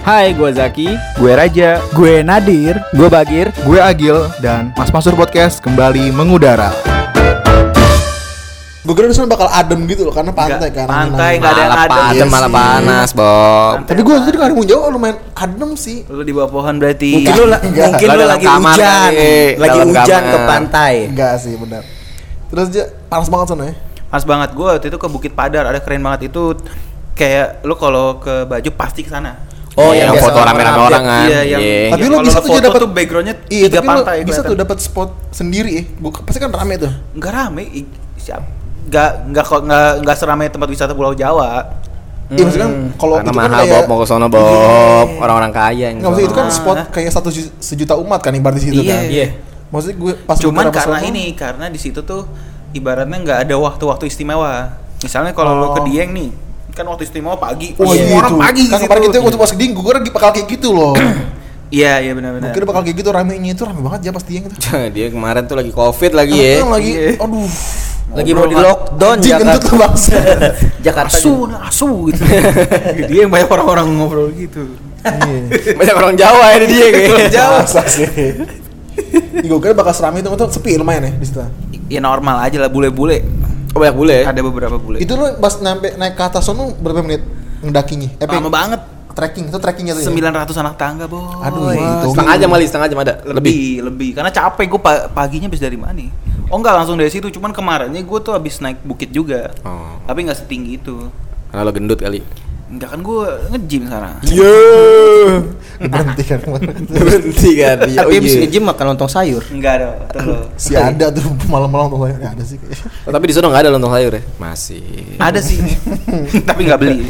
Hai, gue Zaki. Gue Raja. Gue Nadir. Gue Bagir. Gue Agil. Dan Mas Masur Podcast kembali mengudara. Gue kira disana bakal adem gitu loh, karena pantai kan. Pantai, gak ada yang adem. Malah panas, Bob. Tapi gue tadi kali mau jauh lumayan adem sih. Lu di bawah pohon berarti. Mungkin lu lagi hujan. Lagi hujan ke pantai. Enggak sih, benar. Terus aja panas banget sana ya. Pas banget. Gue waktu itu ke Bukit Padar, ada keren banget itu. Kayak lu kalau ke Bajo pasti ke sana. Oh, yang foto rame-rame orang kan. Iya, yang Tapi lu bisa tuh dapat tuh backgroundnya iya, 3 pantai. Bisa tuh dapat spot sendiri ya. Pasti kan rame tuh. Enggak rame. Enggak seramai tempat wisata Pulau Jawa. Iya maksudnya kan kalau Karena itu kan mahal, kayak Bob, mau ke sono, Bob. Orang-orang kaya yang enggak maksudnya itu kan sono. spot kayak 1 sejuta umat kan ibarat di situ Iya. kan. Iya. Maksudnya gue pas Cuman beberapa karena sono- karena di situ tuh ibaratnya nggak ada waktu-waktu istimewa. Misalnya kalau lo ke Dieng nih, kan waktu istimewa pagi. Oh iya Semua orang itu. pagi Kan gitu. kemarin kita waktu pas ke Dieng gue kira bakal kayak gitu loh. Iya benar-benar. Gue kira bakal kayak gitu, ramenya itu rame banget ya pas Dieng itu. Dia kemarin tuh lagi Covid lagi ya. Kan lagi Iya. aduh. Lagi mau di lockdown Anjing kentut Jakarta. tuh bangsa. Jakarta. asu gitu. Dia yang banyak orang-orang ngobrol gitu. Banyak orang Jawa ya di dia kayaknya. Jawa sih. Gue kira bakal seramai itu sepi lumayan ya di situ. Ya normal aja lah, bule-bule. Oh, banyak bule. Ada beberapa bule. Itu lu pas naik ke atas sono berapa menit ngedakinya? lama banget. Trekking itu trekkingnya tuh. 900 anak tangga, Boy. Aduh, itu. Setengah jam ada. Lebih. Karena capek gue paginya habis dari mana? Oh enggak, langsung dari situ. Cuman kemarinnya gue tuh habis naik bukit juga. Oh. Tapi enggak setinggi itu. Karena lo gendut kali. Enggak, kan gue nge-gym sekarang. Yo. Berhenti kan kemarin. Berhenti kan dia. Tapi abis nge-gym makan lontong sayur. Enggak ada. Tuh. Si ada tuh malam-malam tuh ya ada sih kayaknya. Oh, tapi di sana enggak ada lontong sayur ya? Masih. Ada sih. Tapi enggak beli.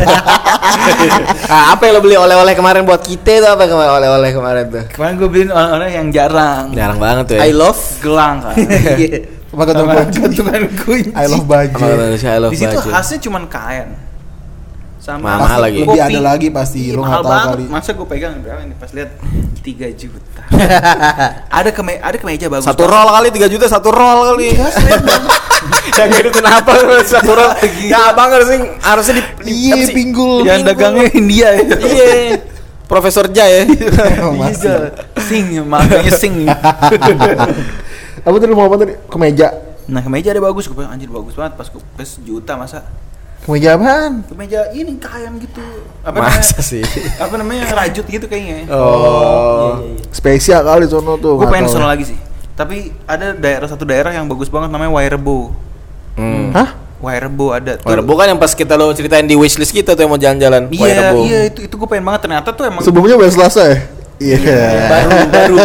Apa yang lo beli oleh-oleh kemarin buat kita tuh apa kemarin oleh-oleh kemarin tuh? Kemarin gue beliin orang-orang yang jarang. Jarang banget tuh ya. I love Gelang kan. Pakai Sama baju. gantungan kunci. I love baju. Apa kata Indonesia, I love Di situ baju. khasnya cuman kain. Sama Mahal lagi. Lebih ada lagi pasti, Iya, lu mahal nggak tahu banget. kali. Masa gue pegang berapa ini pas lihat 3 juta. ada kemeja bagus. Satu roll kali 3 juta satu roll kali. Yang itu kenapa satu roll? Ya abang harusnya di Iya, apa sih? pinggul. Yang dagangnya India ya. Iya. Profesor Ja ya. Masih. Makanya sing. Apa tadi mau apa tadi? Kemeja. Nah, kemeja ada bagus, gue bilang anjir bagus banget pas sejuta masa. Kemeja apaan? Kemeja ini kain gitu. Masa sih? Apa namanya? Rajut gitu kayaknya. Oh. Spesial kali sono tuh. Gue nggak pengen tahu. sono lagi sih. Tapi ada satu daerah yang bagus banget namanya Wairebo. Hah? Wairebo ada tuh. Wairebo kan yang pas kita lo ceritain di wishlist kita tuh yang mau jalan-jalan. Iya, itu gue pengen banget, ternyata tuh emang. Sebelumnya Wes Selasa ya? Iya. baru.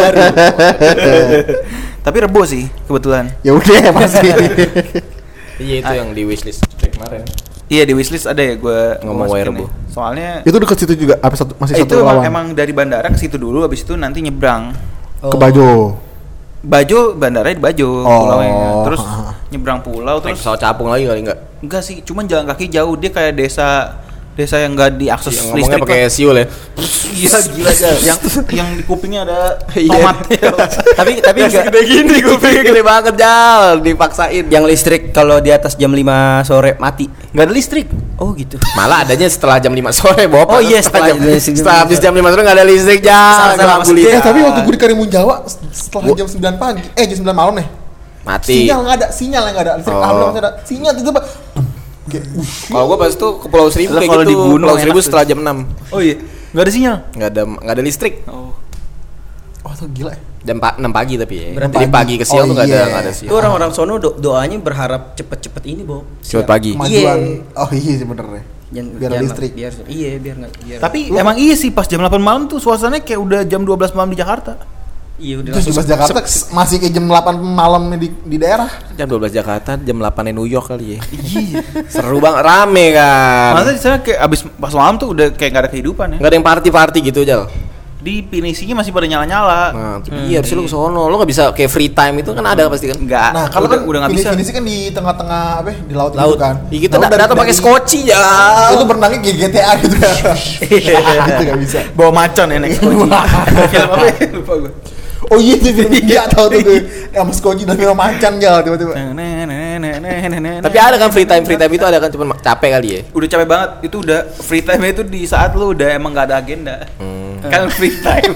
Tapi Rebo sih kebetulan. Ya udah pasti. Iya itu yang di wishlist kemarin. Iya, di wishlist ada ya gue Ngomong Wairebo. Soalnya Itu dekat situ juga apa masih itu satu lawan? emang dari bandara ke situ dulu, habis itu nanti nyebrang. Ke Bajo. Bajo, bandaranya di Bajo, Oh. pulaunya. Terus nyebrang pulau Naik terus pesawat capung lagi kali enggak? enggak sih, cuman jalan kaki jauh. Dia kayak desa yang enggak diakses Yang ngomongnya listrik. pakai siul ya. Iya, gila aja. Yang di kupingnya ada Iya. tomat. tapi Yang enggak segede gini kupingnya gede banget Jal, dipaksain. yang listrik kalau di atas jam 5 sore mati. Enggak ada listrik. Oh gitu. Malah adanya setelah jam 5 sore, Bob. Oh iya, setelah setelah habis jam 5 sore enggak ada listrik, Jal. Sama-sama Gelap gulita. Tapi waktu gue di Karimun Jawa setelah jam 9 pagi, jam 9 malam nih. mati. Sinyal nggak ada, listrik Oh. nggak ada. Sinyal itu Pak. Kayak, Kalau gua pas itu ke Pulau Seribu Lah, kayak kalau gitu. di gunung Pulau Seribu enak setelah jam 6. Oh iya, enggak ada sinyal. Enggak ada listrik. Oh. oh tuh gila ya. Jam 6 pagi tapi ya. Berarti Jadi pagi ke siang Oh, tuh enggak iya. ada Itu siang. orang-orang sono doanya berharap cepet-cepet ini, Bob. Cepet pagi. Kemajuan. Iya. Oh iya sih bener ya. Biar ada listrik. Biar enggak biar. Tapi emang iya sih pas jam 8 malam tuh suasananya kayak udah jam 12 malam di Jakarta. iya udah Terus di Jakarta masih kayak jam 8 malam di daerah. Jam 12 Jakarta, jam 8 New York kali ya. Iya. Seru banget, rame kan. Masa di sana kayak abis pas malam tuh udah kayak gak ada kehidupan ya. Enggak ada yang party-party gitu, Jal. Di Pinisinya masih pada nyala-nyala. Nah, iya harusnya lu ke sono. Lu enggak bisa kayak free time itu kan ada pasti kan. Enggak. Nah, kalau kan udah nggak bisa. Finisi kan di tengah-tengah apa ya, di laut, Laut gitu kan. Ya, kita Nah, datang pakai skoci ya. Itu berenangnya kayak GTA gitu kan. Itu enggak bisa. Bawa macan ya naik skoci. Film apa ya? Lupa gue. Oh iya tuh film India tahu tuh gue. Sama Skoji dan Milo Macan ya tiba-tiba. Tapi ada kan free time itu ada kan cuma capek kali ya. Udah capek banget. Itu udah free time itu di saat lu udah emang gak ada agenda. Kan free time.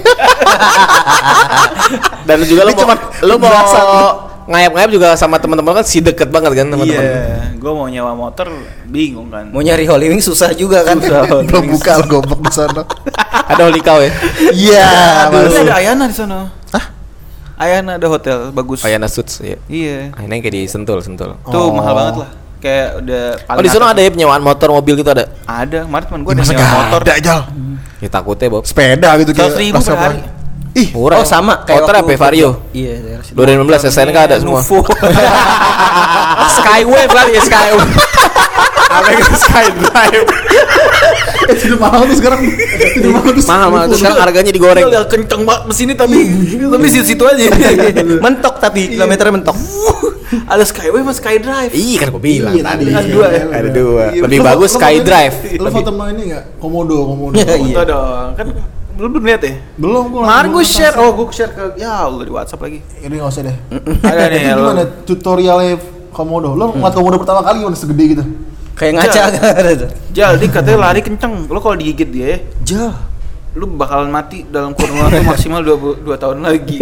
Dan juga lu mau ngayap-ngayap juga sama teman-teman kan si deket banget kan teman-teman. Iya, gue mau nyewa motor bingung kan. Mau nyari Holy Wings susah juga kan. Belum buka lo goblok di sana. Ada Holy Cow ya? Iya, Tapi ada Ayana di sana. Hah? Ayana ada hotel bagus. Ayana Suits ya. Iya. Ayana yang kayak di Sentul. Tuh mahal banget lah. Kayak udah Oh di sana ada ya penyewaan motor mobil gitu ada? Ada, kemarin teman gue ada nyewa motor. Ada aja. Ya takutnya Bob. Sepeda gitu 100.000 per hari. Ih, Murah. Oh sama kayak motor apa Vario? Iya, 2016 SNK ada semua. Nuvo. Skywave kali ya Skywave. Apa yang Skydrive? sudah mahal tuh sekarang. Mahal tuh sekarang harganya digoreng. Udah kenceng banget mesinnya tapi situ aja. mentok tapi kilometernya mentok. Ada Skyway sama Skydrive. Iya kan gue bilang Iya, tadi. tadi. Ada dua. Iya, Lebih Lo- bagus lo Skydrive. Lo foto sama ini enggak? Komodo. Iya. Foto dong. Kan lu belum lihat ya? Belum gua. Kemarin gue share. Oh, gue share ke ya Allah di WhatsApp lagi. Ini enggak usah deh. Ada nih Ini ya. gimana tutorialnya Komodo? Lo ngeliat Komodo pertama kali gimana segede gitu? Kayak ngaca kan. Jal, dia katanya lari kenceng. Lo kalau digigit dia, Jah. lu bakalan mati dalam kurun waktu maksimal 2 tahun lagi.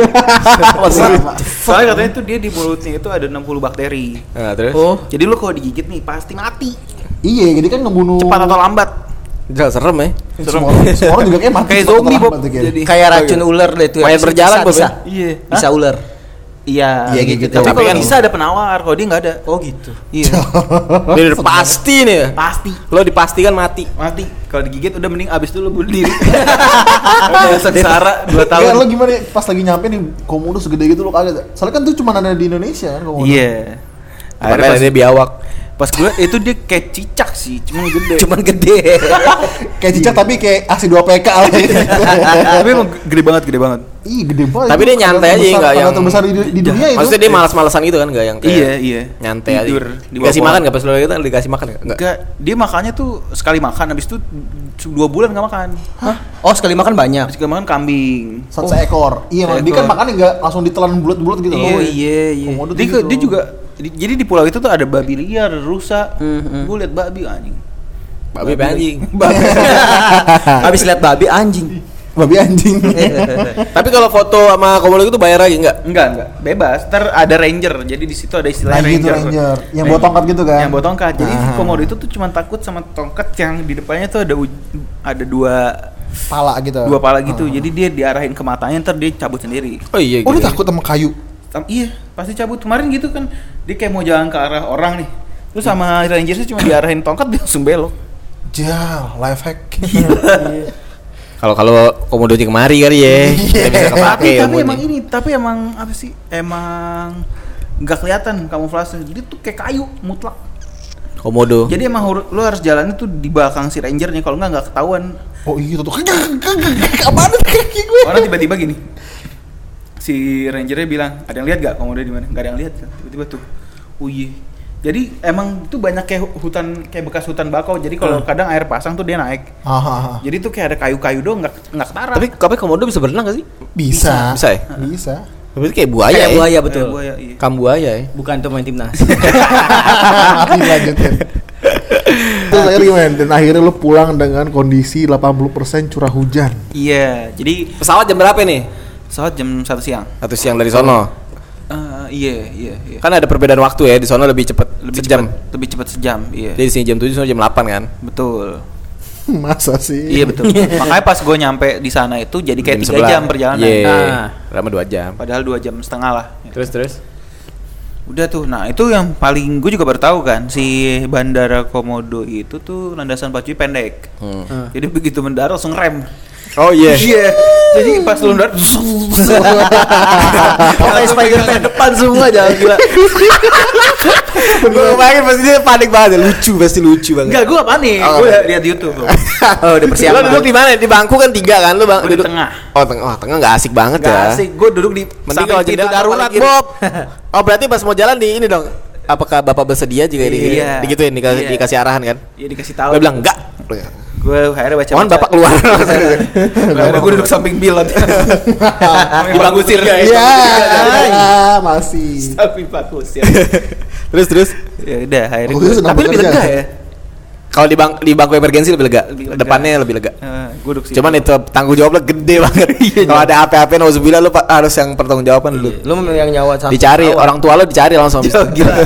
Soalnya katanya tuh dia di mulutnya itu ada 60 bakteri. Nah, terus? Oh, Jadi lu kalau digigit nih pasti mati. Iya, jadi kan ngebunuh Cepat atau lambat. Jangan serem ya. semua orang juga kayak mati. Kayak cepat atau zombie, lambat Bob. tuh kayaknya. Jadi kayak racun ular deh itu. Mayat berjalan, Bob, bisa. ya? iya. Bisa Hah? ular. Iya. Iya, kayak gitu. Tapi Tapi kalau kan- bisa ada penawar, kalau dia nggak ada. Oh gitu. Iya. Dia udah pasti nih ya. Pasti Lo dipastikan mati. mati. Kalau digigit udah mending abis itu lu bunuh diri. Udah sengsara 2 tahun. Kayak lo gimana pas lagi nyampe nih Komodo segede gitu lo kaget. Soalnya kan tuh cuma ada di Indonesia kan Komodo. Iya. Akhirnya Makanya pas, dia biawak. pas gue itu dia kayak cicak sih, cuman gede. Cuman gede. Kayak cicak tapi kayak aksi 2 PK lah. Tapi emang gede banget. Ih, gede banget. Tapi Itu dia nyantai aja terbesar- nggak yang terbesar di dunia itu. Maksudnya dia malas-malasan gitu kan, nggak yang kayak Iya. nyantai aja. Tidur di bawah Dikasih pohon. makan nggak pas lo gitu? Dikasih makan nggak? Enggak, dia makannya tuh sekali makan, habis itu 2 bulan nggak makan. Oh, sekali makan banyak. Sekali makan kambing. Seekor. Iya, Seekor. dia kan makannya nggak langsung ditelan bulat-bulat gitu loh. Oh iya. Komodo tuh Dia, gitu. dia juga jadi di pulau itu tuh ada babi liar, ada rusa. Gue liat babi anjing. Babi apa anjing. Habis lihat babi anjing. Babi anjing. Tapi kalau foto sama Komodo itu bayar lagi nggak? Enggak. Bebas. Ntar ada ranger. Jadi di situ ada istilah Nah, gitu, ranger. Yang bawa tongkat gitu kan? Yang bawa tongkat. Jadi si Ah. komodo itu tuh cuma takut sama tongkat yang di depannya tuh ada dua Pala gitu. pala gitu. Jadi dia diarahin ke matanya, ntar dia cabut sendiri. Oh iya. Oh, gitu. dia takut sama kayu. Iya, pasti cabut. Kemarin gitu kan, dia kayak mau jalan ke arah orang nih. Terus sama rangersnya cuma diarahin tongkat, dia langsung belok. Jah, life hack. Kalau Komodonya kemari kali ya. Kita bisa kepake Tapi emang apa sih? Emang nggak kelihatan kamuflase. Dia tuh kayak kayu mutlak. Komodo. Jadi emang lu harus jalannya tuh di belakang si rangernya, kalau nggak ketahuan. Oh iya tuh. Apaan tuh kaki gue? Orang tiba-tiba gini. Si rangernya bilang, "Ada yang lihat gak komodo di mana?" Nggak ada yang lihat. Tiba-tiba tuh. Oh iya. Jadi emang tuh banyak kayak hutan, kayak bekas hutan bakau. Jadi kalau kadang air pasang tuh dia naik. Jadi tuh kayak ada kayu-kayu doang, nggak ketara. Tapi Komodo bisa berenang nggak sih? Bisa. Bisa ya? Bisa. Berarti kayak buaya Kayak ya? buaya betul. Kayak buaya, iya. Kambuaya ya? Bukan tuh main timnas. Lanjutin. Terus akhirnya gimana? Dan akhirnya lu pulang dengan kondisi 80% curah hujan. Iya, jadi Pesawat jam berapa nih? pesawat jam 1 siang. 1 siang dari sono. Iya. Kan ada perbedaan waktu ya, di sono lebih cepet sejam. Lebih cepat sejam, iya. Jadi di sini jam 7, sono jam 8 kan? Betul. Masa sih? Iya betul. Makanya pas gue nyampe di sana itu jadi kayak 3 jam perjalanan. Iya. Nah, Lama 2 jam. padahal 2 jam setengah lah. Terus. Udah tuh. Nah, itu yang paling gue juga baru tahu kan, si Bandara Komodo itu tuh landasan pacunya pendek. Jadi begitu mendarat langsung rem. Oh iya. Iya. Jadi pas lu mendarat Kayak Spider-Man depan semua jangan gila. Gue bayangin pasti dia panik banget, pasti lucu banget. enggak, gue gak panik. Oh, Gue enggak. lihat di YouTube. Oh, udah Lo persiapan. duduk di mana? Di bangku kan 3 kan? Lu Gua di duduk tengah. Oh, tengah. Wah, tengah enggak asik banget Gak ya. asik. Gue duduk di Mending samping kalau pintu jendela darurat, paling kiri. Bob. Oh, berarti pas mau jalan di ini dong. Apakah Bapak bersedia juga Iya. digituin dikasih arahan kan? Iya, dikasih tahu. Gue bilang enggak. Gue akhirnya baca. Mohon bapak keluar. Akhirnya gue duduk samping Bill. Dibagusin guys. Iya, masih. Samping Pak Kusir. Terus. Ya udah akhirnya. Gue senang Tapi lebih bekerja. lega ya. Kalau di bangku emergensi lebih lega. Lebih lega. Depannya lebih lega. Gue duduk situ. Cuman itu tanggung jawabnya gede banget. Kalau ada apa-apa nauzubillah lu harus yang pertanggungjawaban dulu. Lu yang nyawa sampai Dicari orang tua lu dicari langsung. Gila.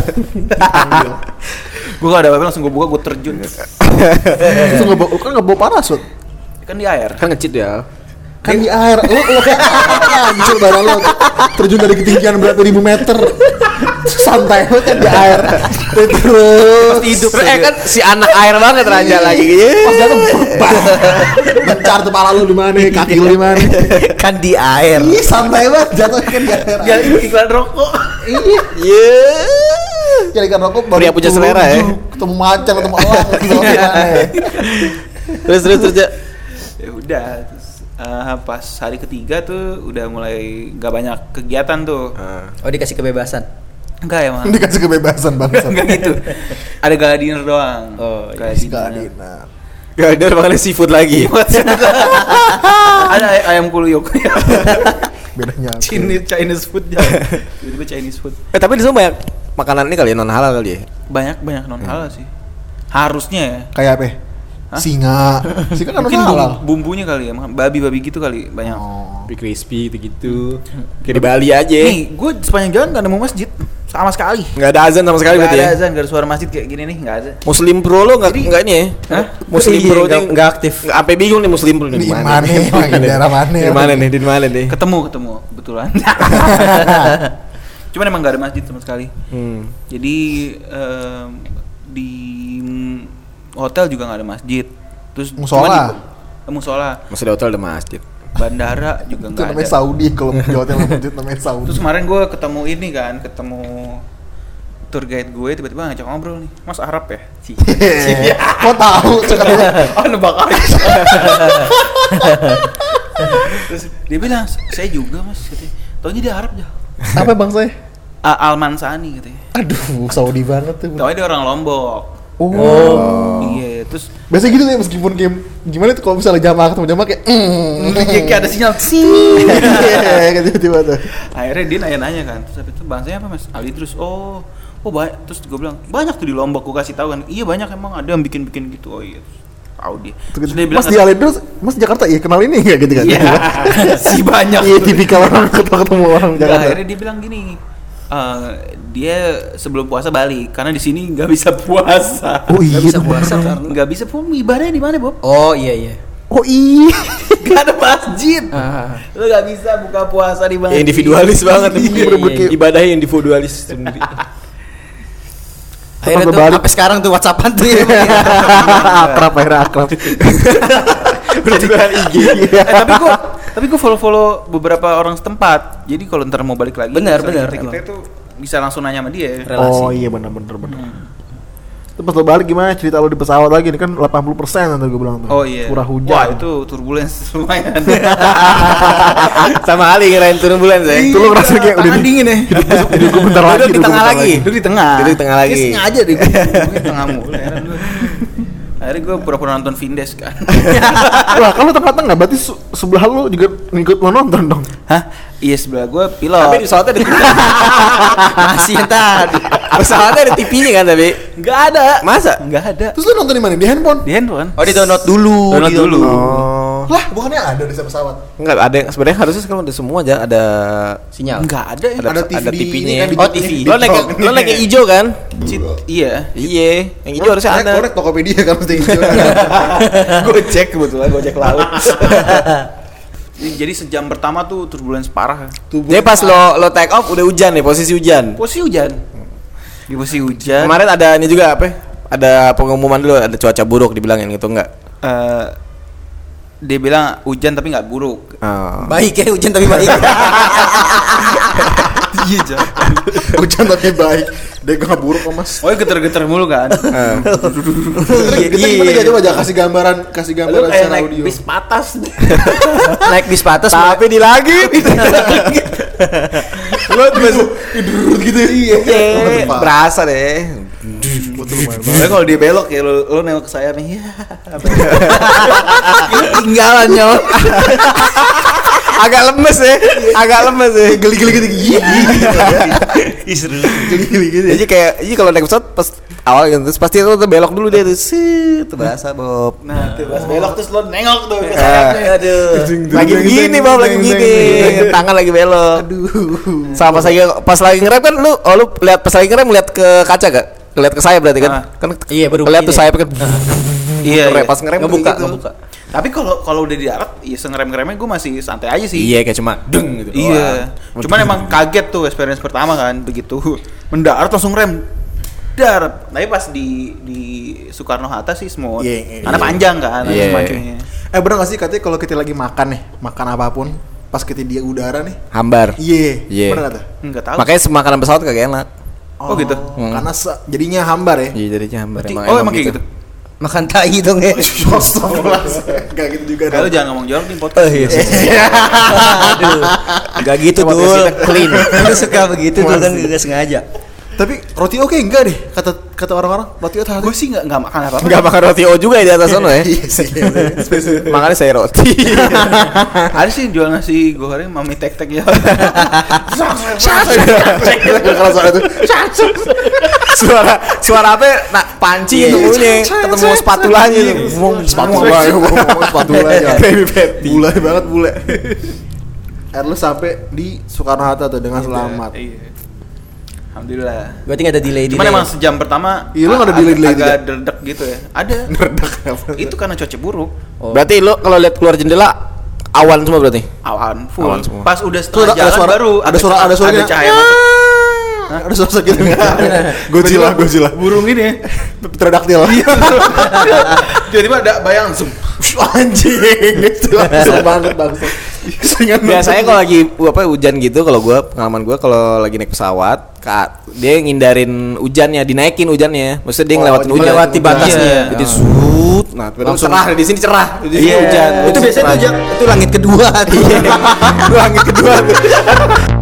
Gue gak ada apa-apa langsung gue buka, gue terjun. Itu nggak bawa parasut. Kan di air. Kan ngecit ya. Kan di air. Lo hancur badan lo. Terjun dari ketinggian berapa ribu meter. Santai lo kan di air. Terus Hidup Kan si anak air banget Raja lagi. pas jatuh bencar tuh pala lu di mana, kaki lu di mana. kan di air. Ih, santai banget jatuhnya kan di air. Ya iklan rokok. Iya. Jadi kan rokok baru Pria punya selera ya. ketemu macan, ketemu elang, ketemu gimana ya. Terus ya. Ya udah. Terus, pas hari ketiga tuh udah mulai gak banyak kegiatan tuh. Oh, dikasih kebebasan. Enggak ya mah. Dikasih kebebasan bangsa. Enggak gitu. Ada gala dinner doang. Oh, gala dinner. Gak ada makan seafood lagi. Ada ayam kuluyuk. Bedanya. Chinese food ya. Tiba-tiba Chinese food. Tapi di sana banyak makanan ini kali ya non halal kali ya. Banyak non halal sih. Harusnya ya. Kayak apa? Hah? Singa kan Mungkin halal. bumbunya kali ya, babi gitu kali banyak. Crispy gitu. Kayak di Bali aja. Nih, gue sepanjang jalan gak nemu masjid sama sekali. Nggak ada azan sama sekali Gak berarti ada ya. azan, gak ada suara masjid kayak gini nih, gak ada. Muslim Pro lo nggak ini ya? Hah? Muslim Iya, Pro nggak aktif. Nggak sampai bingung nih Muslim Pro Di mana? Di daerah mana? Di mana nih? Di mana nih? Ketemu kebetulan. Cuman emang gak ada masjid sama sekali. Jadi di hotel juga gak ada masjid. Terus Musola. Musola. Masih di hotel ada masjid. Bandara juga Itu nggak namanya ada. Saudi, kalau di hotel masjid namanya Saudi. Terus kemarin gue ketemu ini kan, ketemu tour guide gue tiba-tiba ngajak ngobrol nih, Mas Arab ya? Kok tahu sekarang? Oh nebak aja. Terus dia bilang, saya juga mas, katanya. Taunya dia Arab ya? Apa bang saya? Almansani katanya. Aduh, Saudi banget tuh. Taunya dia orang Lombok. Oh. Iya, terus Biasanya gitu ya, meskipun game gimana tuh kalau misalnya jamaah ketemu jamaah kayak kayak ada sinyal. iya, kayak tiba-tiba tuh. Akhirnya dia nanya-nanya kan, terus habis itu bangsanya apa mas? Ali terus, oh banyak. Terus gue bilang banyak tuh di Lombok, gue kasih tahu kan. Iya banyak emang, ada yang bikin gitu. Oh iya, tahu dia. Terus dia bilang, Mas di Alidrus, Mas Jakarta ya kenal ini nggak gitu kan? iya, si banyak. Iya, tipikal orang ketemu orang Enggak, Jakarta. akhirnya dia bilang gini, dia sebelum puasa balik karena di sini nggak bisa puasa. Oh iya, Bisa puasa karena. Nggak bisa ibadahnya di mana Bob? Oh iya. Oh iya. Gak ada masjid. Lo nggak bisa buka puasa di mana? Ya, individualis banget. Iya. Ibadahnya individualis sendiri. Akhirnya tuh berbalik. sampai sekarang tuh WhatsAppan tuh ya. Akrab, akhirnya akrab. Berjualan IG. Tapi gue follow beberapa orang setempat. Jadi kalau ntar mau balik lagi, Benar. kita itu bisa langsung nanya sama dia. Relasi. Oh iya benar. Terus pas lo balik gimana cerita lo di pesawat lagi nih kan 80% nanti gue bilang tuh. Oh iya. Curah hujan. Wah itu turbulence lumayan. Sama Ali ngirain turun bulan saya. Itu lo ngerasa kayak udah dingin ya. hidup gue bentar lagi. Duduk di tengah lagi. Duduk di tengah. Duduk di tengah lagi. Kayak sengaja deh gue di tengah mulu. Heran gue. Akhirnya gue pura-pura nonton Vindes kan. Wah kalau tempat tengah berarti sebelah lo juga ngikut lo nonton dong. Hah? Iya sebelah gue pilot. Tapi di pesawatnya ada Masih yang tadi. pesawatnya ada TV-nya kan tapi. Nggak ada. Masa? Nggak ada. Terus lo nonton di mana? Di handphone? Di handphone. Oh, di download dulu. Download dulu. Oh. Lah bukannya ada di pesawat? Enggak ada yang sebenarnya harusnya sekarang ada semua aja ada Sinyal. Nggak ada ya. Ada TV di TV-nya. ini kan, di- Oh TV. di- Lo naik yang hijau kan? Iya. Iya, yang hijau harusnya ada. Korek Tokopedia kan mesti hijau. Gojek kebetulan Gojek laut. Jadi sejam pertama tuh turbulence parah. Jadi pas lo take off udah hujan nih, posisi hujan. Posisi hujan. Di posisi hujan. Kemarin ada ini juga apa? Ada pengumuman dulu ada cuaca buruk dibilangin gitu enggak? Dia bilang hujan tapi nggak buruk. Oh. Baik ya hujan tapi baik. Iya Jan. Hujan tapi baik. Dia gak buruk kok mas. Oh geter-geter mulu kan. Kita gimana ya coba aja kasih gambaran Lu kayak secara naik audio. bis patas. Naik bis patas. Tapi di lagi Lo tidur gitu ya. Iya. berasa deh. tuh lumayan banget. Soalnya kalau dia belok ya lo nengok ke saya nih. Ya. Tinggalan nyol. Agak lemes ya. Geli-geli gitu. Seru. Geli-geli gitu. Jadi kayak kalau naik pesawat pas awal gitu terus pasti lo tuh belok dulu dia tuh. Tuh berasa Bob. Nah, tuh pas belok terus lo nengok tuh ke Eh. sayapnya. Aduh. Lagi begini Bob, lagi begini. Tangan lagi belok. Sama pas lagi ngerem kan lu lihat pas lagi ngerem lihat ke kaca gak? Lihat ke sayap berarti kan? Kan Iya, baru lihat tuh begini. sayap kan. Iya. Pas ngerem Ngebuka. Tapi kalau udah di darat, ya sengerem-ngeremnya gue masih santai aja sih. Iya kayak cuma deng gitu. Iya. Cuman emang kaget tuh experience pertama kan begitu mendarat langsung rem. Darat. Tapi pas di Soekarno Hatta sih smooth. Iya, Karena iya. panjang kan Iya. majunya. Bener gak sih katanya kalau kita lagi makan nih, makan apapun, pas kita di udara nih, Hambar. iya, bener gak tuh? Enggak tahu. Makanya makanan pesawat kagak enak. Oh, gitu. Karena jadinya hambar ya. Iya jadinya hambar Oh, emang kayak gitu. Makan tai dong ya. Astagfirullah. Gak gitu juga Kalau dong. jangan ngomong jorok di podcast. Aduh. Enggak gitu Coba tuh. kita clean. Lu suka begitu tuh kan enggak sengaja. Tapi roti oke enggak deh kata orang-orang roti oke. Gue sih enggak makan apa-apa. Enggak makan roti O juga ya di atas sana ya. Iya sih. Makanya saya roti. Ada sih jual nasi goreng mami tek-tek ya. Kalau soal itu Suara apa? Nak panci itu bunyi ketemu spatulanya itu. spatula ya, spatula ya. Bule banget bule. Lu sampai di Soekarno Hatta tuh dengan selamat. Iya. Alhamdulillah. Berarti enggak ada delay. Cuman emang sejam pertama Iya, lu nggak ada delay-delay agak juga? derdek gitu ya. Ada. Itu karena cuaca buruk. Berarti lu kalau lihat keluar jendela awan semua berarti. Awan full. Awan semua. Pas udah Tuh, setengah ada jalan suara- baru ada suaranya. ada cahaya masuk. Ada sosok gitu enggak? Godzilla. Burung ini ya. Pterodaktil. Tiba-tiba ada bayang zoom. Anjing, itu langsung banget bangsa. Biasanya kalau lagi hujan gitu kalau pengalaman gua kalau lagi naik pesawat dia ngindarin hujannya, dinaikin hujannya. Maksudnya dia ngelewatin hujan. melewati batasnya. Iya. Jadi sud. Nah, Langsung- cerah di sini cerah. Di sini Iya. hujan. Itu biasanya tuh itu langit kedua tuh. Langit kedua tuh.